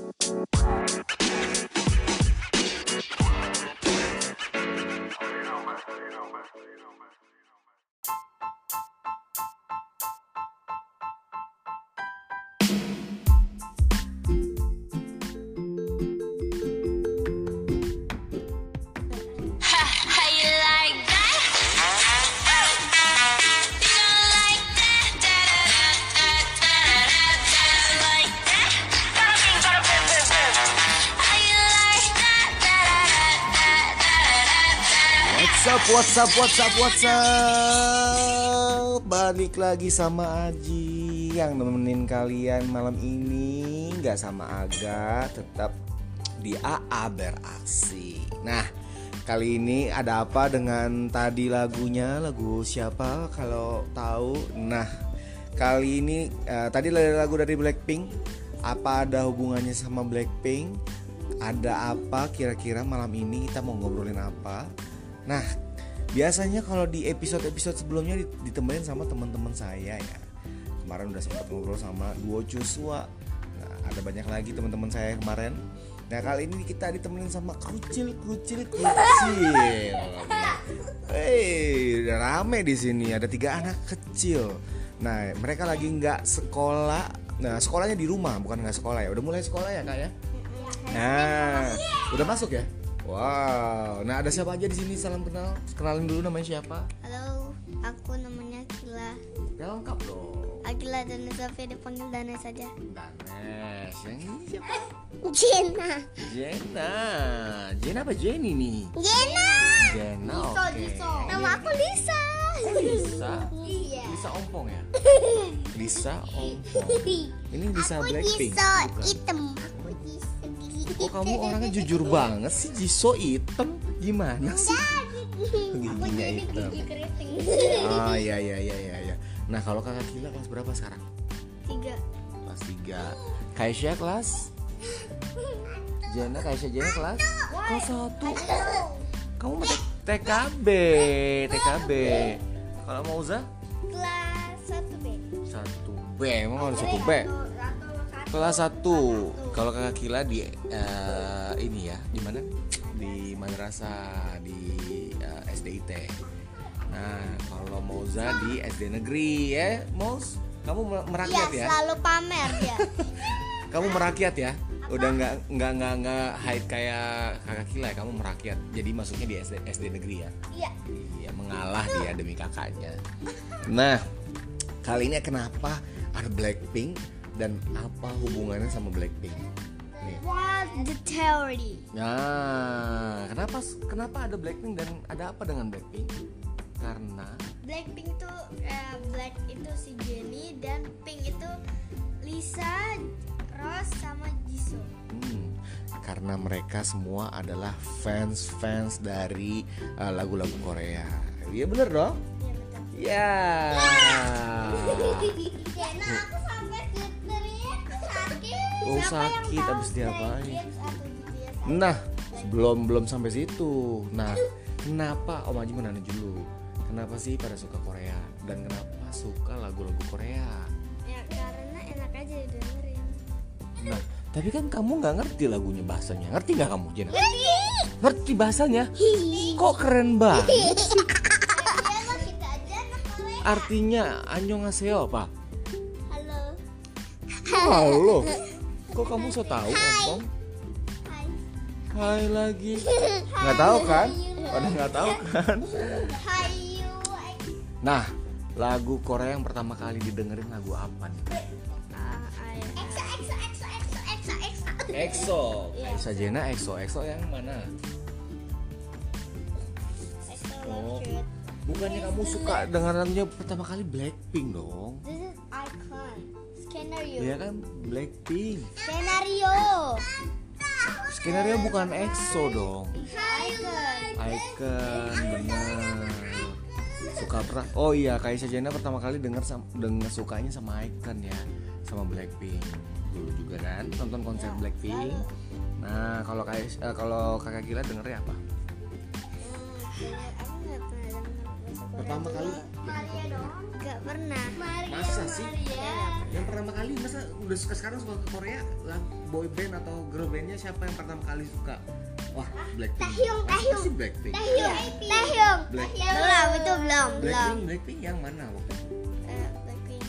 What's up? Balik lagi sama Aji yang nemenin kalian malam ini. Gak sama Aga, tetap di AA beraksi. Nah, kali ini ada apa dengan tadi lagunya? Lagu siapa kalau tahu? Nah, kali ini tadi lagu dari Blackpink. Apa ada hubungannya sama Blackpink? Ada apa kira-kira malam ini kita mau ngobrolin apa? Nah, biasanya kalau di episode-episode sebelumnya ditemenin sama teman-teman saya ya. Kemarin udah sempat ngobrol sama duo Joshua. Nah, ada banyak lagi teman-teman saya kemarin. Nah, kali ini kita ditemenin sama kucil. Udah rame di sini. Ada 3 anak kecil. Nah, mereka lagi nggak sekolah. Nah, sekolahnya di rumah, bukan nggak sekolah ya. Udah mulai sekolah ya, Kak ya? Nah, udah masuk ya? Wow, nah ada siapa aja di sini? Salam kenal, kenalin dulu namanya siapa? Halo, aku namanya Akila. Ya lengkap dong. Akila dan Sofia dipanggil Danes saja. Danes, yang ini siapa? Jena apa Jenny nih? Jena, oke. Nama aku Lisa. Lisa? Iya. Lisa Ompong ya? Lisa Ompong. Ini Lisa Blackpink. Lisa bukan? hitam. Aku Lisa. Kok kamu orangnya jujur banget sih? Jisoo hitam gimana sih? Giginya hitam. Oh iya. Nah kalau kakak Kila kelas berapa sekarang? 3. Kelas 3. Kaisha kelas? Jena kelas? Kelas 1. Kamu mau TKB. Kalau Mauza? Kelas 1B. 1B. Emang ada 1B? Kelas 1. Kalau kakak Kila di ini ya, di mana? Di madrasah di SDIT. Nah, kalau Mauza di SD negeri ya, Mauz. Kamu merakyat ya? Selalu pamer ya. Kamu merakyat ya? Udah nggak hide kayak kakak Kila ya, kamu merakyat. Jadi masuknya di SD negeri ya? Iya, mengalah dia demi kakaknya. Nah, kali ini kenapa ada Blackpink dan apa hubungannya sama Blackpink? Nih. What's the theory? Nah, kenapa ada Blackpink dan ada apa dengan Blackpink? Karena Blackpink itu Black itu si Jennie dan Pink itu Lisa, Rose sama Jisoo. Karena mereka semua adalah fans dari lagu-lagu Korea. Iya bener dong? Iya betul. Ya. Jena aku sampai teriak sakit. Oh sakit abis diapain? Nah belum sampai situ. Nah kenapa Om Aji mau nanya dulu? Kenapa sih pada suka Korea dan kenapa suka lagu-lagu Korea? Ya karena enak aja didengerin. Nah tapi kan kamu nggak ngerti lagunya bahasanya. Ngerti nggak kamu Jena? Ngerti bahasanya? Kok keren banget? Artinya annyeonghaseyo apa? Halo. Kok kamu so tahu, Ompong? Hai lagi. Nggak tahu kan? Pada nggak tahu kan? Nah, lagu Korea yang pertama kali didengerin lagu apa nih? EXO. Kaisa Jena EXO yang mana? Oh, bukannya kamu suka dengan lagunya pertama kali Blackpink dong? This is icon. Skenario. Iya kan Blackpink. Skenario bukan EXO dong. Icon benar. Suka pernah. Oh iya, Kaisa Jena pertama kali dengar sukanya sama Icon ya, sama Blackpink. Dulu juga kan nonton konser Blackpink. Nah, kalau kakak Gila dengernya apa? Aku nggak pernah denger Pertama kali Maria dong. Gak pernah. masa sih? Yang pertama kali masa udah sekarang suka ke Korea, boy band atau girl bandnya siapa yang pertama kali suka? Wah, Blackpink. Taehyung. Pasti Blackpink. Taehyung. Belum, itu belum. Blackpink yang mana waktu itu? Blackpink.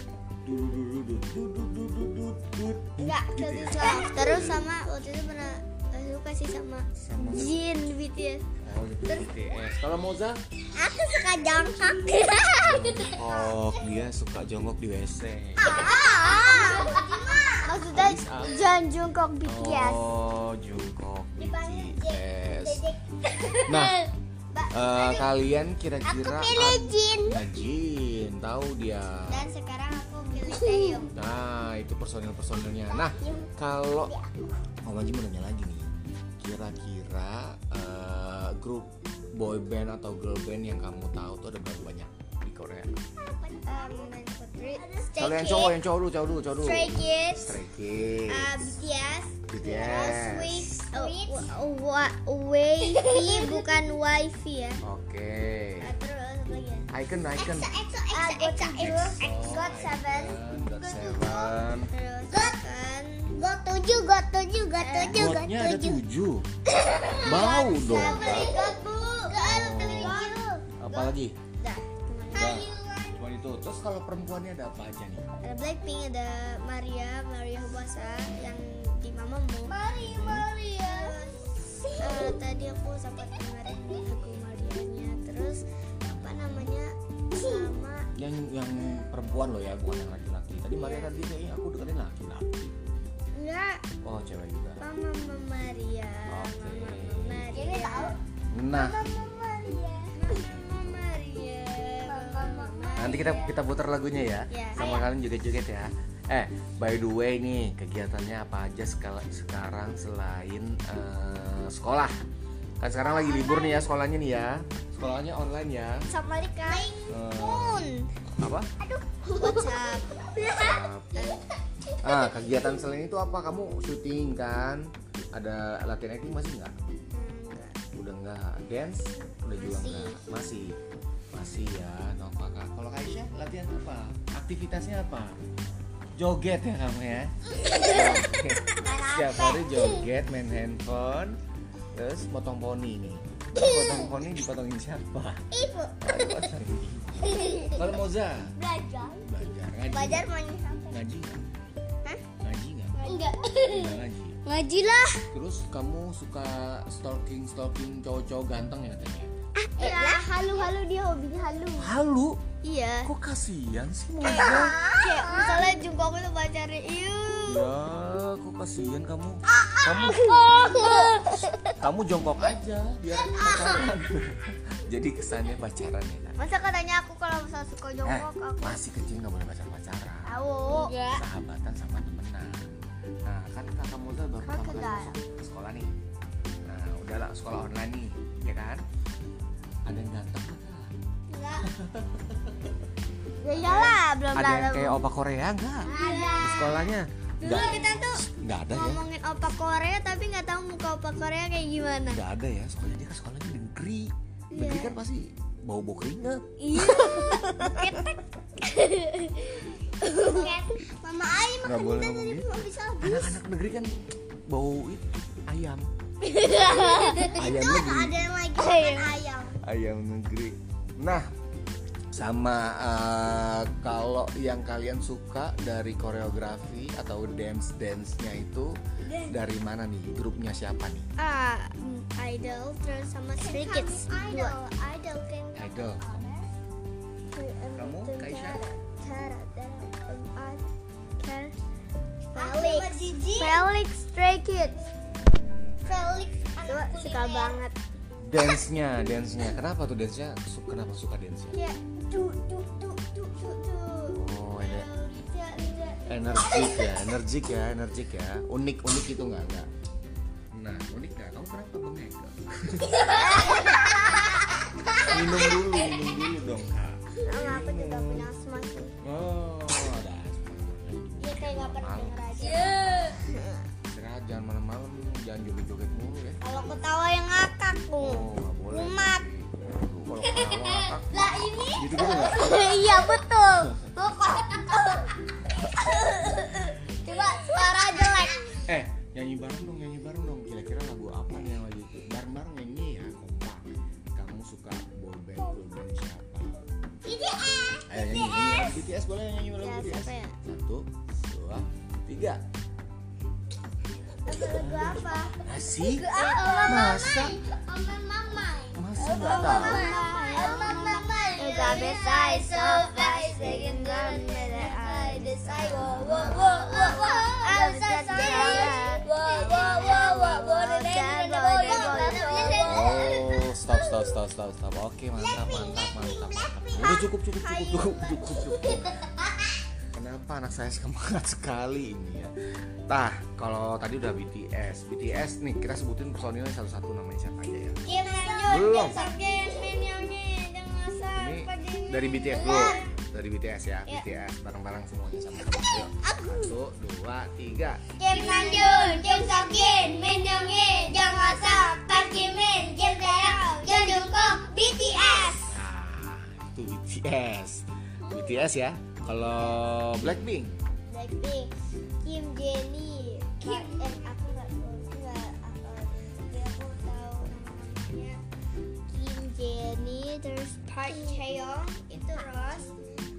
Enggak, Enggak, terus sama waktu itu pernah suka sih sama Jin BTS. Oh, BTS. Kalau Moza? Aku suka Jungkook. Oh, dia suka jongkok di WC. Maksudnya Jan Jungkook BTS. Oh, Jungkook BTS. Nah, kalian kira-kira Aku pilih Jin. Jin, tahu dia. Dan sekarang aku pilih Taehyung. Nah, itu personil-personilnya. Nah, kalau Om Manji mau nanya lagi nih. Kira-kira grup boy band atau girl band yang kamu tahu tuh ada berapa banyak di Korea? Kalau yang cowok dulu. Stray Kids. BTS. BTS. Wavy bukan wifi ya. Oke. Terus apa lagi ya? Icon. GOT7. Terus kan Gotnya ada 7. Bau dong. Apa lagi? Cuma itu. Terus kalau perempuannya ada apa aja nih? Ada Blackpink, ada Maria Huasa yang di Mamamoo. Maria. Tadi aku sempat dengerin lagu Marianya. Terus apa namanya? Sama Yang perempuan loh ya, bukan yang laki-laki. Tadi Maria tadi kayaknya aku dengerin laki-laki. enggak, Oh, cewek juga. Mama Maria. Oke. Maria. Ini tahu? Nah, Maria. nanti kita putar lagunya ya. Ya. Sama kalian joget-joget ya. By the way nih, kegiatannya apa aja sekarang selain sekolah? Kan sekarang lagi libur nih ya sekolahnya nih ya. Sekolahnya online ya. Assalamualaikum. Apa? WhatsApp. Kegiatan selain itu apa? Kamu syuting kan? Ada latihan acting masih nggak? Udah nggak. Dance? Udah juga nggak? Masih ya. No, kakak. Kalau Kaisha latihan apa? Aktivitasnya apa? Joget ya kamu ya. Setiap hari joget, main handphone, terus potong poni nih. Potong poni dipotongin siapa? Ibu. Kalau Moza? Belajar. Ngaji. Belajar main sampai. Ngaji nggak? Hah? Ngaji nggak? Enggak. Nggak ngaji. Ngaji lah. Terus kamu suka stalking cowok-cowok ganteng ya katanya? Ya, halu dia hobinya halu. Halu? Iya. Kok kasihan sih Moza? Kayak misalnya Jungkook itu pacarnya, Ya, kok kasihan kamu? Kamu jongkok aja biar pacaran. Jadi kesannya pacaran ya kan? Masa katanya aku kalau misalnya suka Jungkook aku Masih kecil nggak boleh pacaran. tahu. Enggak. Sahabatan sama temenan. Nah, kan kakak Moza baru pertama kali masuk ke sekolah nih. Nah, udahlah sekolah online nih, ya kan? Ada yang ganteng nggak? Enggak. Ya iyalah, belum Ada yang kayak opa Korea nggak? Ada. Di sekolahnya? Dulu kita tuh Nggak ada ya? ngomongin opa Korea tapi nggak tahu muka opa Korea kayak gimana. Nggak ada ya, soalnya dia kan sekolahnya di negeri. Negeri kan pasti bau keringat. Iya. Ketek. Mama Ai Nggak boleh ngomong tadi gitu. mau bisa. Anak-anak negeri kan bau itu ayam. Ayam Itu negeri. ada yang lagi makan ayam. Ayam negeri. Nah, sama kalau yang kalian suka dari koreografi atau dance-nya itu dari mana nih? Grupnya siapa nih? Idol terus sama Stray Kids. Idol kan. Idol. Kamu, Kaisha? Felix Stray Kids. Felix suka banget. Dance-nya. Kenapa tuh dance-nya? Kenapa suka dance-nya? Ya, tuh. Oh, ada energik ya. Unik itu enggak? Nah, unik enggak? Kamu kenapa bengek? Minum dulu dong, Kak. Aku juga punya asma sih. Oh, ada asma. Dia kayak nggak pernah denger aja. Istirahat, jangan malam-malam, jangan joget-joget mulu ya. Kalau ketawa yang ngakak tuh. Oh, nggak boleh. Kumat. Kalau ketawa ngakak, Lah ini jadi betul. Coba suara jelek. Nyanyi bareng dong. Kira-kira lagu apa nih yang lagi bareng-bareng nyanyi ya, kompak. Kamu suka boyband siapa? BTS. Ayo nyanyi BTS, boleh nyanyi lagu BTS? Siapa ya? 1, 2, 3. Lagu apa? Asik. Masa? Masa nggak tahu? Oh, stop. Oke, mantap. Udah cukup. Kenapa anak saya semangat sekali ini ya? Nah, kalau tadi udah BTS nih, kita sebutin personilnya satu-satu, namanya siapa aja ya? Belum. Ini dari BTS dulu. Dari BTS ya, BTS bareng-bareng semuanya sama-sama. Yuk. 1, 2, 3. Kim Namjoon, Kim Seokjin, Min Yoongi, Jung Hoseok, Park Jimin, Kim Taehyung, Jung Jungkook, BTS. Nah, itu BTS ya. Kalau Blackpink, Kim Jennie, aku nggak tahu namanya. Kim Jennie, terus Park Chaeyoung, itu Rose,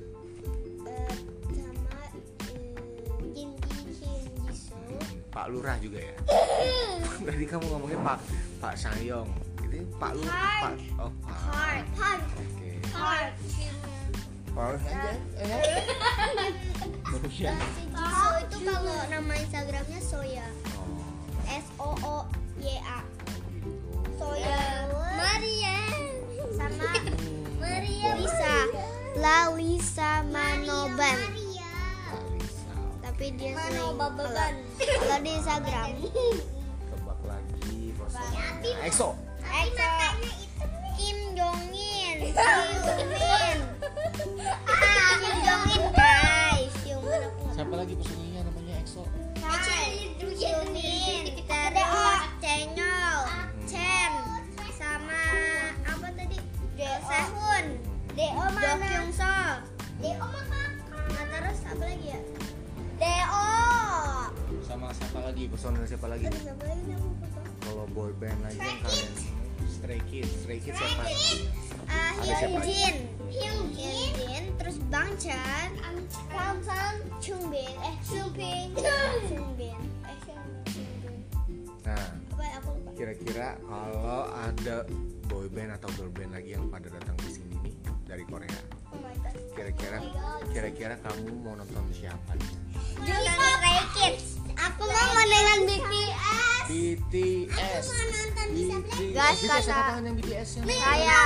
sama Kim Jisoo. Pak Lurah juga ya. Tadi kamu ngomongnya Pak Sanyong. Ini Pak Lurah. Pak. Oh, Park. Oke. Park. Park aja. Si Jisoo itu kalau nama Instagramnya Soya. SOOYA. Soya. Maria. Sama Lalisa Manoban. Tapi dia sering kalau di Instagram. Tebak lagi personilnya. EXO. Kim Jongin, Hyunmin. Kim Jongin guys. Siapa lagi personilnya namanya EXO? Hyunmin, terus Chenyol, Chen, sama apa tadi? Sehun, Jo Kyung Soo. Nah, terus apa lagi ya? Deo. Sama siapa lagi? Personil siapa lagi? Siapa lagi namanya? Kalau boy band lagi kan kalian Stray Kids siapa? Hyunjin, terus Bang Chan, Chungbin. Nah, Apa ya, aku lupa. kira-kira kalau ada boy band atau girl band lagi yang pada datang ke sini nih dari Korea, Oh my god. kira-kira kamu mau nonton siapa nih? Stray Kids. Aku mau dengan BTS. BTS. Guys, BTS kata- siapa tahu yang BTS yang Saya.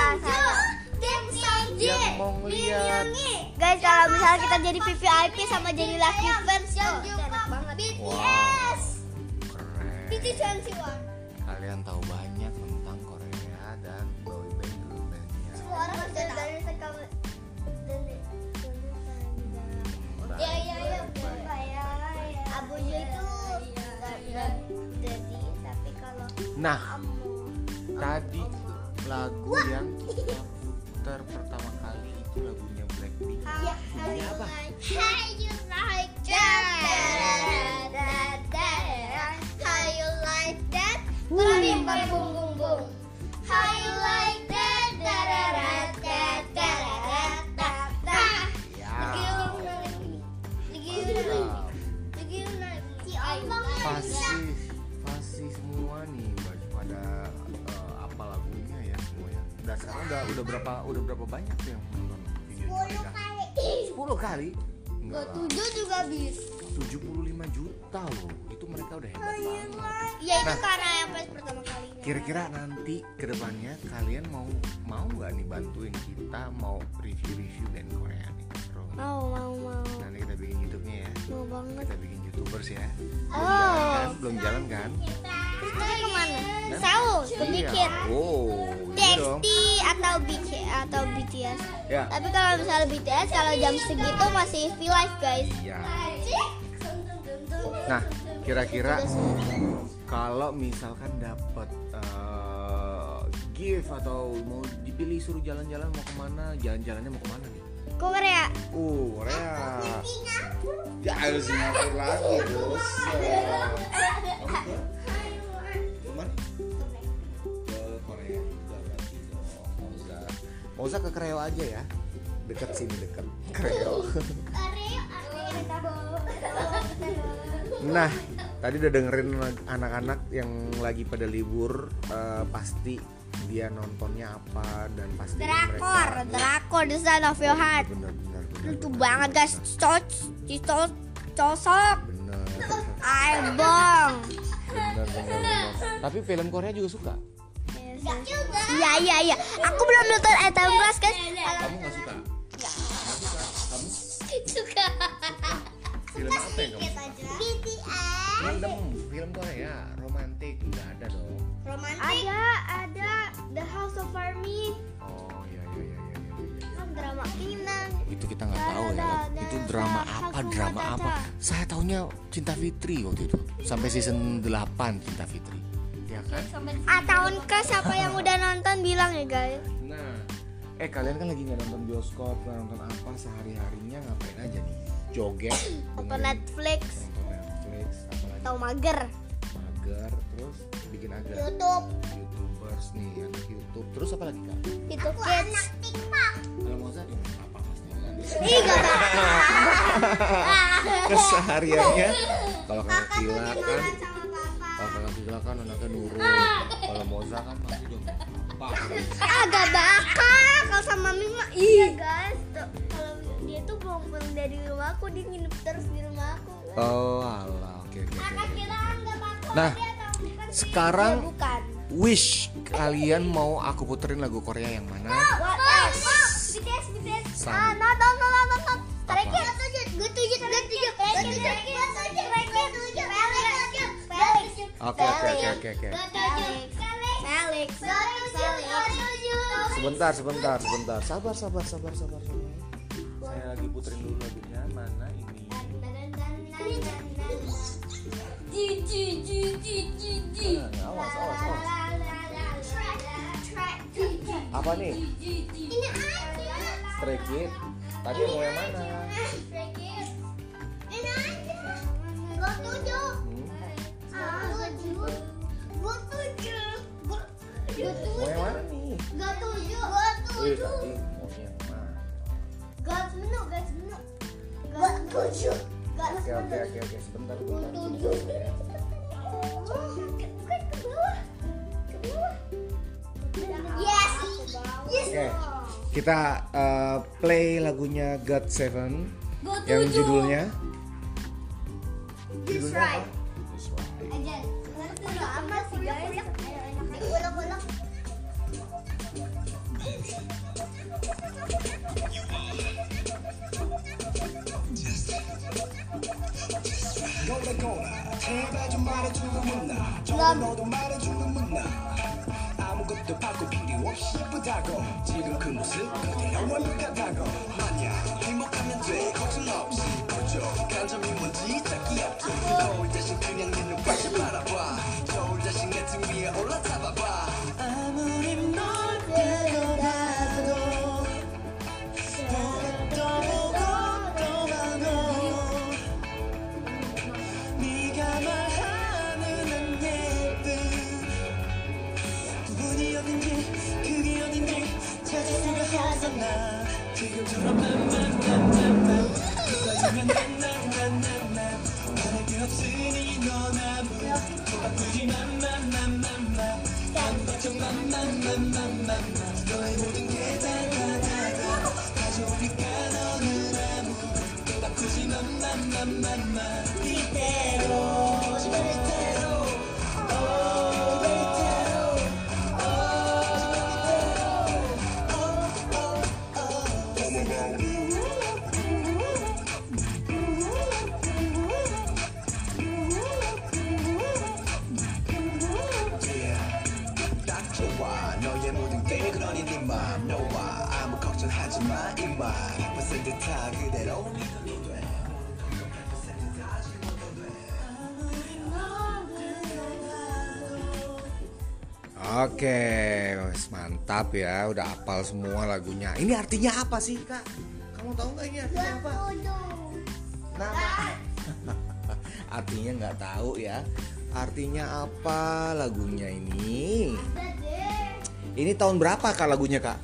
yang mau ngeliat. Guys, kalau misalnya kita jadi VVIP sama jadi lucky fans, enak banget. Wow, keren. BTS. Kalian tahu banyak tentang Korea dan boy band girl bandnya. Semua orang udah dari sekarang. Abu Ju itu nggak jadi, tapi kalau Nah, tadi lagu yang kita putar pertama kali itu lagunya Blackpink. Judulnya apa? How you like that? How you like that? Bing bang bung bung bung. How you like that? Ya. Pasti semua nih pada apa lagunya ya semuanya. Dan sekarang udah berapa banyak tuh yang nonton videonya mereka? 10 kali? Enggak lah. 7 juga bisa. 75 juta loh. Itu mereka udah hebat banget. Ya itu Nah. karena yang pas pertama kalinya. Kira-kira nanti kedepannya kalian mau nggak nih bantuin kita mau review band Korea nih? Bro. Mau. Nanti kita bikin YouTube-nya ya. Mau banget. Kita bikin YouTubers ya. Oh. Belum jalan kan? Terus kita kemana? Saus, bikin. Oh, iya dong. TXT atau BTS. Ya. Tapi kalau misalnya BTS kalau jam segitu masih V-Live guys. Iya. Nah, kira-kira kalau misalkan dapat gift atau mau dipilih suruh jalan-jalan mau kemana? Jalan-jalannya mau kemana nih? Korea. Korea. Ya harus Singapura lagi terus. Gimana? Ke Korea juga berarti dong. Mau ke Kreo aja ya. Dekat sini dekat Kreo. Nah, tadi udah dengerin anak-anak yang lagi pada libur, pasti dia nontonnya apa dan pasti Drakor The Sound of Your Heart. Bener. Lucu banget guys, cocok. Bener. Aibong. Bener. Tapi film Korea juga suka. Iya. Aku belum nonton Atom Class guys. Kamu nggak suka? Nggak suka. Kamu Suka. film apa yang kamu suka? BTS. Film Korea romantis nggak ada dong. Romantis. Ada The House of Army. Oh iya. Kan drama Kinang. Itu kita nggak tahu ya. Itu drama apa? Saya taunya Cinta Fitri waktu itu. Sampai season 8 Cinta Fitri. Ya kan? Tahun ke siapa yang udah nonton bilang ya guys. Nah, kalian kan lagi nggak nonton bioskop, nggak nonton apa sehari-harinya ngapain aja nih? Joget, Nonton Netflix. apalagi? Tahu mager. Terus bikin agar. YouTubers nih, anak YouTube. Terus apa lagi kak? Itu kids. Kalau mau saya apa mas? Ih gak Kesehariannya kalau kakak Kila kan anaknya nurut. Kalau Moza kan pasti dong. Agak bakal kalau sama Mima. Iya guys. Kalau dia tuh belum pulang dari rumah aku, dia nginep terus di rumah aku. Oh alah, oke. Nah, Dia sekarang bukan. wish kalian mau aku puterin lagu Korea yang mana? What else? BTS. No. Stray Kids. Gue tujuh. Oke. Felix. Sebentar. Sabar. Saya lagi puterin dulu lagunya. Mana ini? Awas. Apa nih? Ini aja. Stray Kids. Tadi mau yang mana? Ini aja. Gue tujuh. Mau yang mana nih? Gak tujuh. Tadi mau yang mana? Gak tujuh. Oke. Sebentar. Yes. Oke. Kita play lagunya God Seven yang judulnya. Just right. That's right. Aja. Apa sih guys? Ulek. 제발 좀 말해주면 나 너도 말해주면 나 아무것도 바꿀 필요 없이 예쁘다고 지금 그 모습 그대로 완벽하다고 만약 행복하면 돼 걱정 없이 부족한 점이 뭔지 찾기 없지 거울 대신 그냥 네 눈빛을 바라봐 거울 대신 내 등 위에 올라타봐봐 아무리 널 데려다도 네가 말하는 안 예쁜 부분이 어딘지 그게 어딘지 찾을 수가 없었나 지금처럼 만만만만만 웃어주면 난난난난난 바랄 게 없으니 넌 아무것도 바꾸지 만만만만만 난 걱정 만만만만만만 너의 모든 게 다다다다 가져오니까 너는 아무것도 바꾸지 만만만만만 이대로 딱 좋아 너의 모든 게 그러니 네 맘 너와 아무 걱정하지 마 이만 100% 다 그대로 Oke, mantap ya, udah hafal semua lagunya. Ini artinya apa sih kak? Kamu tahu nggak ini artinya apa? Nama. Artinya nggak tahu ya. Artinya apa lagunya ini? Ini tahun berapa kak lagunya kak?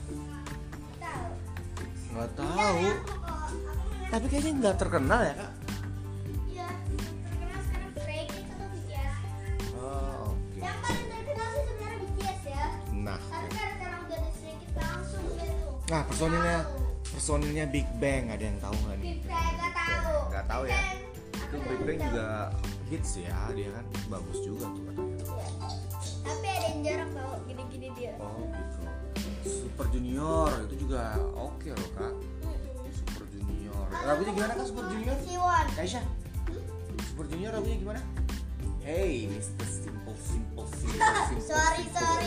Nggak tahu. Tapi kayaknya nggak terkenal ya kak? Iya, terkenal sekarang Stray Kids atau BTS. Oh, oke. Yang paling terkenal sih sebenarnya BTS ya. Nah, Tapi karena udah ada Stray Kids langsung gitu. nah personilnya Big Bang ada yang tahu nggak nih? Big Bang nggak tahu. Nggak tahu ya. Aku Itu Big Bang juga hits ya, dia kan bagus juga tuh katanya. Iya. Tapi ada yang jarang tahu gini-gini dia. Oh gitu. Super Junior itu juga oke loh kak. Super Junior. Lagunya gimana kak Super Junior? Siwon. Kaisha. Super Junior lagunya gimana? Hey, Mr. Simple. Sorry.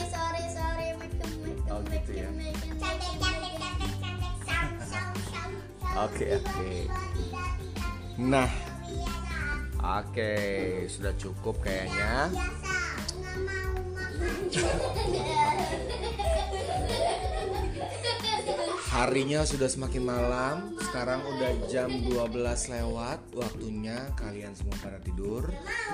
Oh, gitu ya. Oke. Nah, oke, sudah cukup kayaknya. Harinya sudah semakin malam. Sekarang udah jam 12 lewat. Waktunya kalian semua pada tidur.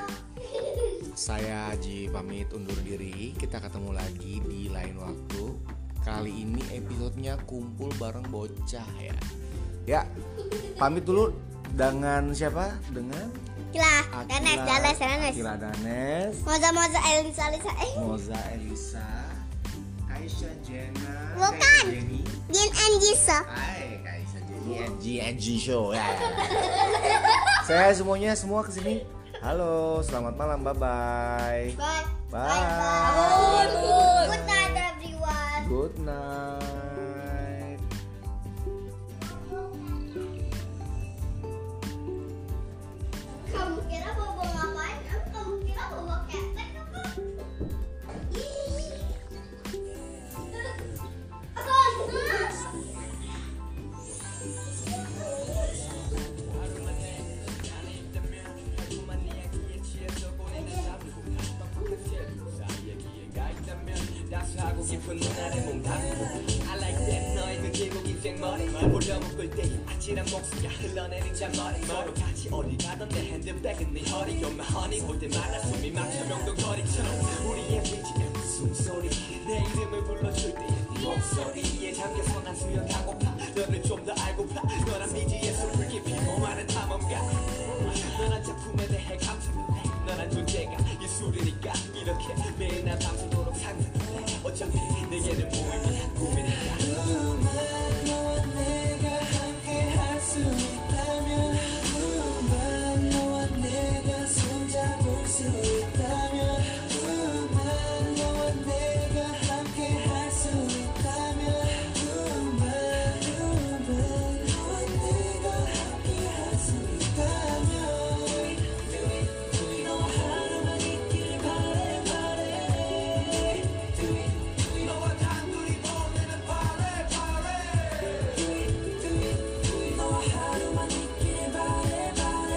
Saya Haji pamit undur diri. Kita ketemu lagi di lain waktu. Kali ini episodenya kumpul bareng bocah ya. Ya, pamit dulu dengan siapa? Dengan Kila, Danes. Kila Danes. Moza Elisa. Moza Elisa. Kaisha Jenna. Bukan. Jenny. Jin and Jisa. Hai, Kaisha Jenny and G Show ya. Saya semua kesini. Halo, selamat malam, bye. Good night everyone. Good night. Kamu kira bobo ngapain? Kamu kira bobo ketek apa? 하고 싶은 누나를 몸담고 I like that 너의 그 길고 긴 생머리 보려 묶을 때 아찔한 목소리가 흘러내린 잔머리 서로 같이 어디 가던 내 핸드백은 네 허리 You're my honey 볼 때마다 숨이 막혀 명동거리처럼 우리의 BGM 숨소리 내 이름을 불러줄 때의 네 목소리에 잠겨서 난 수영하고파 너를 좀 더 알고파 너란 미지의 숲을 깊이 모아는 탐험가 너란 작품에 대해 감상해 너란 존재가 예술이니까 이렇게 매일 난 밤새도록 상상해 어차피 내게는 무의미한 꿈이니까 너와 내가 함께 할 수 있다면 너와 내가 손잡을 수 있다면 너와 내가 함께 할 수 있다면 너와 내가 함께 할 수 있다면 너와 하루만 있길 바래 너와 단둘이 보내는 바래 너와 하루만 있길 바래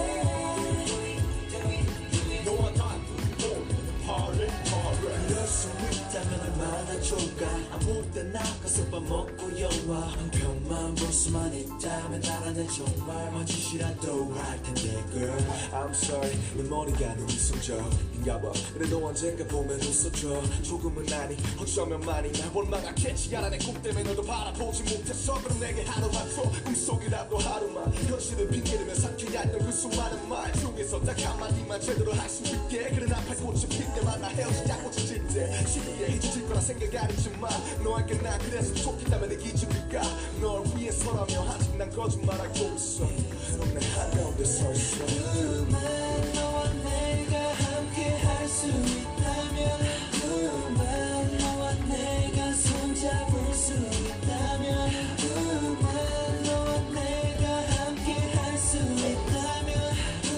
너와 단둘이 보내는 바래 그럴 수 있다면 얼마나 좋을까 아무 때나 가서 밥 먹고 영화 한 편만 볼 수만 있다면 나라는 정말 뭔 짓이라도 할 텐데 girl I'm sorry 내 머리가 너무 이성적인가 봐 그래도 언젠가 보면 웃어줘 조금은 아니 어쩌면 많이 날 원망하겠지 알아 내 꿈 때문에 너도 바라보지 못했어 그럼 내게 하루 한초 꿈속이라도 하루만 현실을 핑계대며 삼켜야했던 그 수많은 말 중에서 딱 한마디만 제대로 할 수 있게 그래 나팔 꽃이 필 때만 나 헤어지자 꽃이 질때 쉽게 잊혀질 거라 생각 안 했지만 너에게 난 그래서 좋겠다면 내 기준일까 널 위해서라며 아직 난 거짓말하고 있어 넌 내 한가운데 서 있어 너와 내가 함께 할 수 있다면 너와 내가 손잡을 수 있다면 너와 내가 함께 할 수 있다면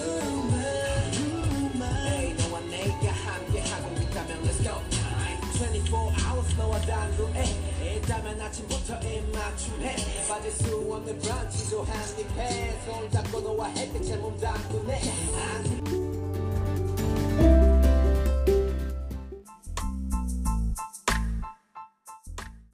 너와 내가 함께 하고 있다면 Let's go 24 hours 너와 단둘에 있다면 아침부터 입맞춤해 빠질 수 없는 브런치도 한입해 손 잡고 너와 햇빛에 몸 담그네